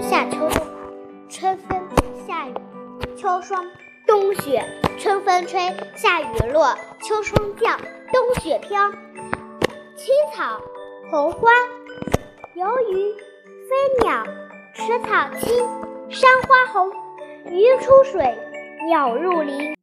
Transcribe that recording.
夏秋冬，春分夏雨秋霜，冬雪，春风吹，夏雨落，秋霜降，冬雪飘。青草红花，游鱼飞鸟，池草青，山花红，鱼出水，鸟入林。